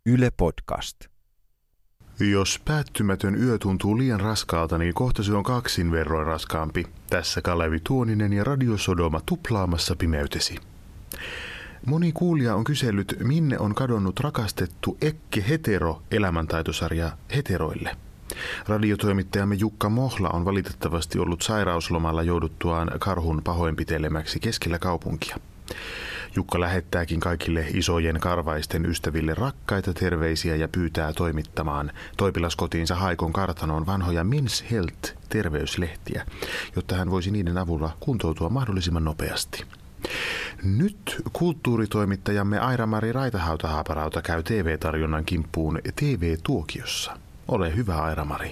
Yle Podcast. Jos päättymätön yö tuntuu liian raskaalta, niin kohta se on kaksin verroin raskaampi. Tässä Kalevi Tuoninen ja Radio Sodoma tuplaamassa pimeytesi. Moni kuulija on kysellyt, minne on kadonnut rakastettu Ekke Hetero elämäntaitosarja heteroille. Radiotoimittajamme Jukka Mohla on valitettavasti ollut sairauslomalla jouduttuaan karhun pahoinpitelemäksi keskellä kaupunkia. Jukka lähettääkin kaikille isojen karvaisten ystäville rakkaita terveisiä ja pyytää toimittamaan toipilaskotiinsa Haikon kartanoon vanhoja Men's Health-terveyslehtiä, jotta hän voisi niiden avulla kuntoutua mahdollisimman nopeasti. Nyt kulttuuritoimittajamme Aira-Mari Raitahauta-Haaparauta käy TV-tarjonnan kimppuun TV-tuokiossa. Ole hyvä, Aira-Mari.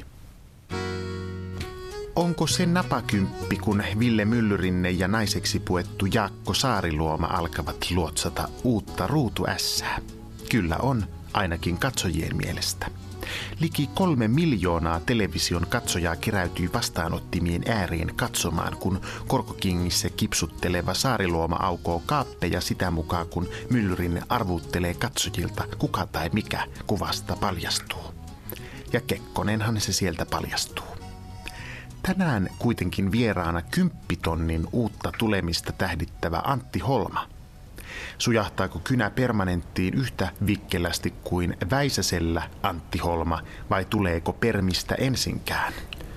Onko se napakymppi, kun Ville Myllyrinne ja naiseksi puettu Jaakko Saariluoma alkavat luotsata uutta ruutuässää? Kyllä on, ainakin katsojien mielestä. Liki 3 miljoonaa television katsojaa keräytyi vastaanottimien ääreen katsomaan, kun korkokingissä kipsutteleva Saariluoma aukoo kaappeja sitä mukaan, kun Myllyrinne arvuuttelee katsojilta, kuka tai mikä kuvasta paljastuu. Ja Kekkonenhan se sieltä paljastuu. Tänään kuitenkin vieraana 10 tonnin uutta tulemista tähdittävä Antti Holma. Sujahtaako kynä permanenttiin yhtä vikkelästi kuin Väisäsellä Antti Holma vai tuleeko permistä ensinkään?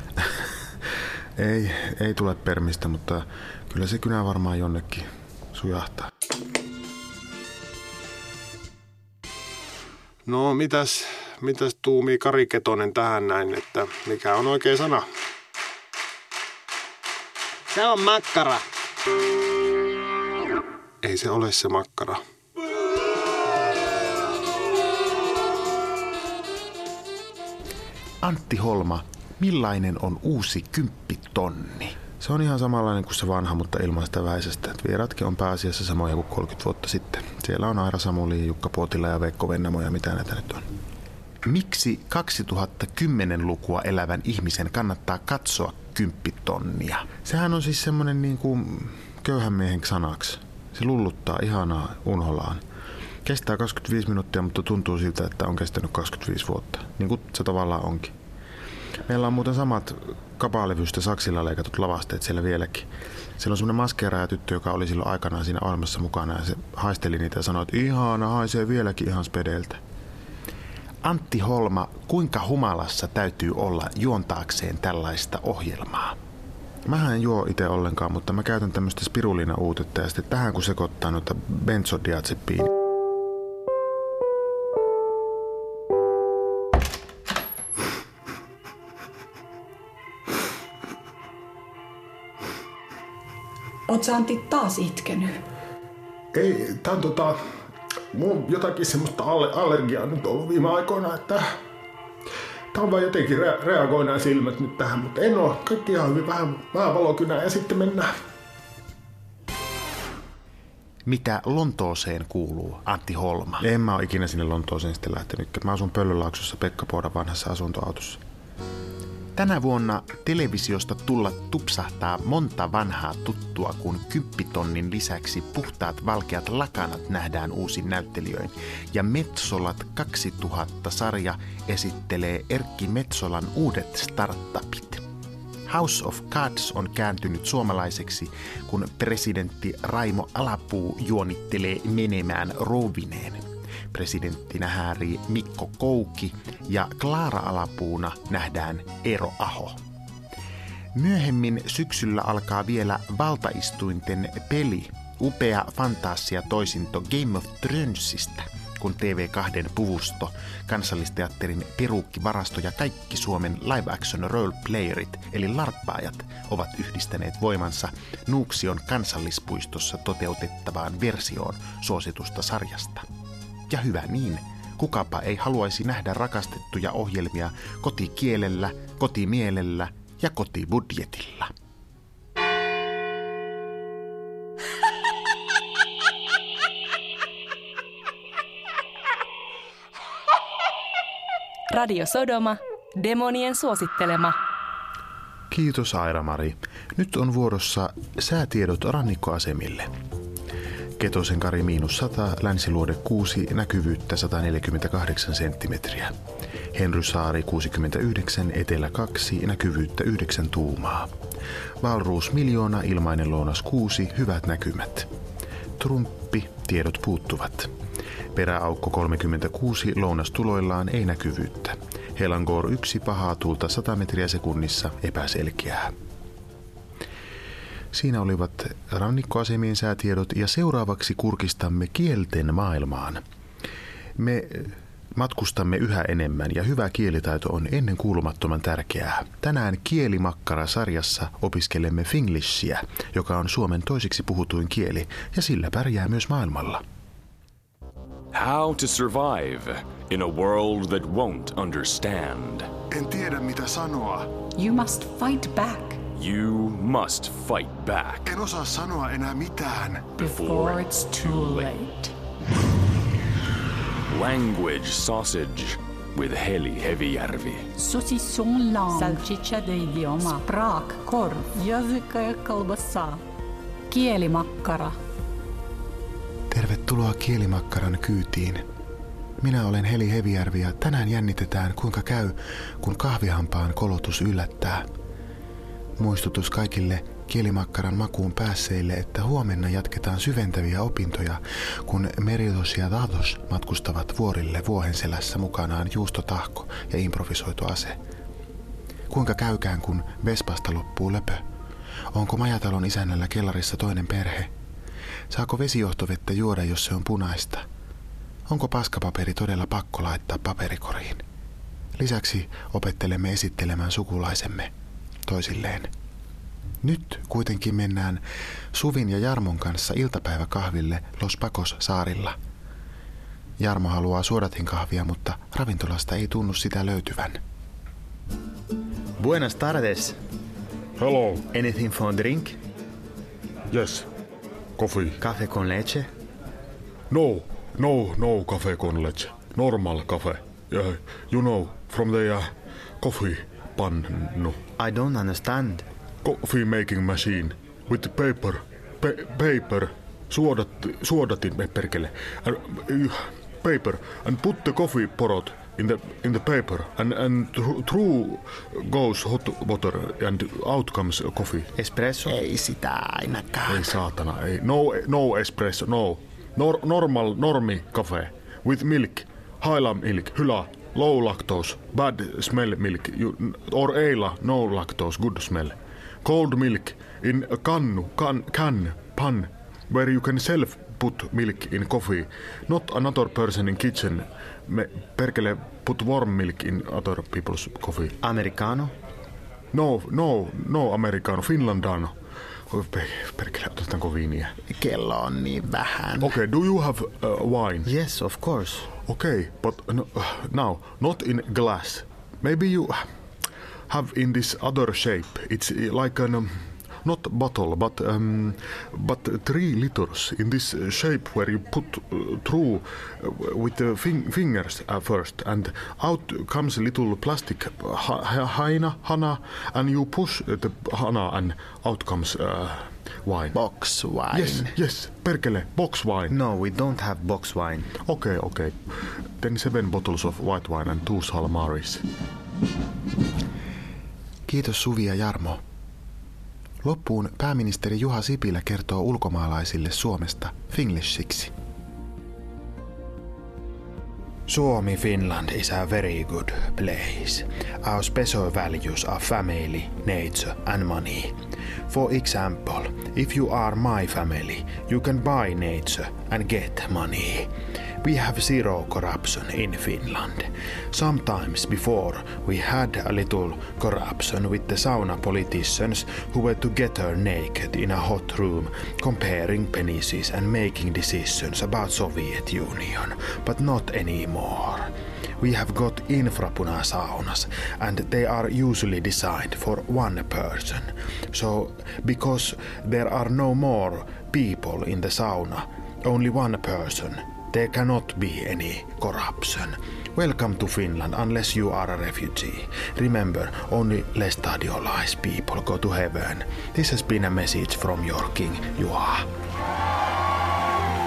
Ei tule permistä, mutta kyllä se kynä varmaan jonnekin sujahtaa. No mitäs tuumii Kari Ketonen tähän näin, että mikä on oikea sana? Se on makkara. Ei se ole se makkara. Antti Holma, millainen on uusi 10 tonni? Se on ihan samanlainen kuin se vanha, mutta ilman sitä Väisästä. Vieraatkin on pääasiassa samoja kuin 30 vuotta sitten. Siellä on Aira Samuli, Jukka Puotila ja Veikko Vennamo ja mitä näitä nyt on. Miksi 2010-lukua elävän ihmisen kannattaa katsoa 10 tonnia? Sehän on siis semmoinen niin kuin köyhän miehen sanaksi. Se lulluttaa ihanaa unholaan. Kestää 25 minuuttia, mutta tuntuu siltä, että on kestänyt 25 vuotta. Niin kuin se tavallaan onkin. Meillä on muuten samat kapalevystä saksilla leikatut lavasteet siellä vieläkin. Siellä on semmoinen maskeeraaja tyttö, joka oli silloin aikanaan siinä ohjelmassa mukana ja se haisteli niitä ja sanoi, että ihana, haisee vieläkin ihan spedeiltä. Antti Holma, kuinka humalassa täytyy olla juontaakseen tällaista ohjelmaa? Mähän en juo itse ollenkaan, mutta mä käytän tämmöistä spirulina-uutetta ja sitten tähän kun sekoittaa noita benzodiazepiin. Oot sä Antti taas itkenyt? Ei, tää on mulla on jotakin semmoista allergiaa nyt ollut viime aikoina, että tää on vaan jotenkin reagoi nämä silmät nyt tähän, mutta en oo. Kaikki ihan hyvin, vähän valokynää ja sitten mennään. Mitä Lontooseen kuuluu, Antti Holma? En mä oo ikinä sinne Lontooseen sitten lähtenyt. Mä asun Pöllölaaksossa Pekka Poodan vanhassa asuntoautossa. Tänä vuonna televisiosta tulla tupsahtaa monta vanhaa tuttua, kun 10 tonnin lisäksi Puhtaat valkeat lakanat nähdään uusin näyttelijöin. Ja Metsolat 2000-sarja esittelee Erkki Metsolan uudet startupit. House of Cards on kääntynyt suomalaiseksi, kun presidentti Raimo Alapuu juonittelee menemään rouvineen. Presidenttinä häärii Mikko Kouki ja Klaara Alapuuna nähdään Eero Aho. Myöhemmin syksyllä alkaa vielä valtaistuinten peli, upea fantasia-toisinto Game of Thronesista, kun TV2 puvusto, Kansallisteatterin peruukkivarasto ja kaikki Suomen live-action role-playerit eli larppaajat ovat yhdistäneet voimansa Nuuksion kansallispuistossa toteutettavaan versioon suositusta sarjasta. Ja hyvä niin, kukapa ei haluaisi nähdä rakastettuja ohjelmia kotikielellä, kotimielellä ja kotibudjetilla. Radio Sodoma, demonien suosittelema. Kiitos Aira-Mari. Nyt on vuorossa säätiedot rannikkoasemille. Ketosenkari -100, Länsiluode 6, näkyvyyttä 148 senttimetriä. Henrysaari 69, Etelä 2, näkyvyyttä 9 tuumaa. Wahlroos 1 000 000, ilmainen lounas 6, hyvät näkymät. Trumppi, tiedot puuttuvat. Peräaukko 36, lounas tuloillaan, ei näkyvyyttä. Helangor 1, pahaa tuulta 100 metriä sekunnissa, epäselkeää. Siinä olivat rannikkoasemien säätiedot ja seuraavaksi kurkistamme kielten maailmaan. Me matkustamme yhä enemmän ja hyvä kielitaito on ennen kuulumattoman tärkeää. Tänään Kielimakkara-sarjassa opiskelemme finglishia, joka on Suomen toiseksi puhutuin kieli ja sillä pärjää myös maailmalla. How to survive in a world that won't understand. En tiedä mitä sanoa. You must fight back You must fight back En osaa sanoa enää mitään. before it's too late. Language sausage with Heli Hevijärvi. Saucisson langue. Salchicha de idioma. Språkkorv. Jazika ja kalbassa. Kielimakkara. Tervetuloa Kielimakkaran kyytiin. Minä olen Heli Hevijärvi ja tänään jännitetään kuinka käy, kun kahvihampaan kolotus yllättää. Muistutus kaikille Kielimakkaran makuun päässeille, että huomenna jatketaan syventäviä opintoja, kun Meridos ja Dados matkustavat vuorille vuohenselässä mukanaan juustotahko ja improvisoitu ase. Kuinka käykään, kun Vespasta loppuu löpö? Onko majatalon isännällä kellarissa toinen perhe? Saako vesijohtovettä juoda, jos se on punaista? Onko paskapaperi todella pakko laittaa paperikoriin? Lisäksi opettelemme esittelemään sukulaisemme toisilleen. Nyt kuitenkin mennään Suvin ja Jarmon kanssa iltapäiväkahville Los Pacos saarilla. Jarmo haluaa suodatinkahvia, mutta ravintolasta ei tunnu sitä löytyvän. Buenas tardes. Hello. Anything for a drink? Yes. Coffee. Café con leche? No cafe con leche. Normal cafe. You know, from the coffee pannu. I don't understand. Coffee making machine with the paper. Suodatin perkele. Paper and put the coffee porot in the paper and through goes hot water and out comes coffee. Espresso? Ei sitä ainakaan. Ei saatana, ei. No espresso, no. Normi cafe with milk, Highland milk, hyvä, low lactose, bad smell milk, or eila, no lactose, good smell. Cold milk in a pan, where you can self put milk in coffee, not another person in kitchen. Perkele put warm milk in other people's coffee. Americano? No americano, finlandano. Perkele, otetaanko viiniä? Kello on niin vähän. Okay, do you have wine? Yes, of course. Okay, but now, not in glass. Maybe you have in this other shape. It's like an, not bottle, but 3 liters in this shape where you put through with the fingers first, and out comes a little plastic hana, and you push the hana, and out comes wine. Box wine. Yes, perkele, box wine. No, we don't have box wine. Okay. Then 7 bottles of white wine and 2 Salmaris. Kiitos Suvi ja Jarmo. Loppuun pääministeri Juha Sipilä kertoo ulkomaalaisille Suomesta finglishiksi. Suomi, Finland is a very good place. Our special values are family, nature and money. For example, if you are my family, you can buy nature and get money. We have zero corruption in Finland. Sometimes before we had a little corruption with the sauna politicians who were together naked in a hot room comparing penises and making decisions about Soviet Union, but not anymore. We have got infrapuna saunas and they are usually designed for one person. So because there are no more people in the sauna, only one person, there cannot be any corruption. Welcome to Finland unless you are a refugee. Remember, only lestadiolized people go to heaven. This has been a message from your King Juha.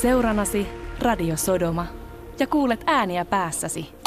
Seuranasi Radio Sodoma ja kuulet ääniä päässäsi.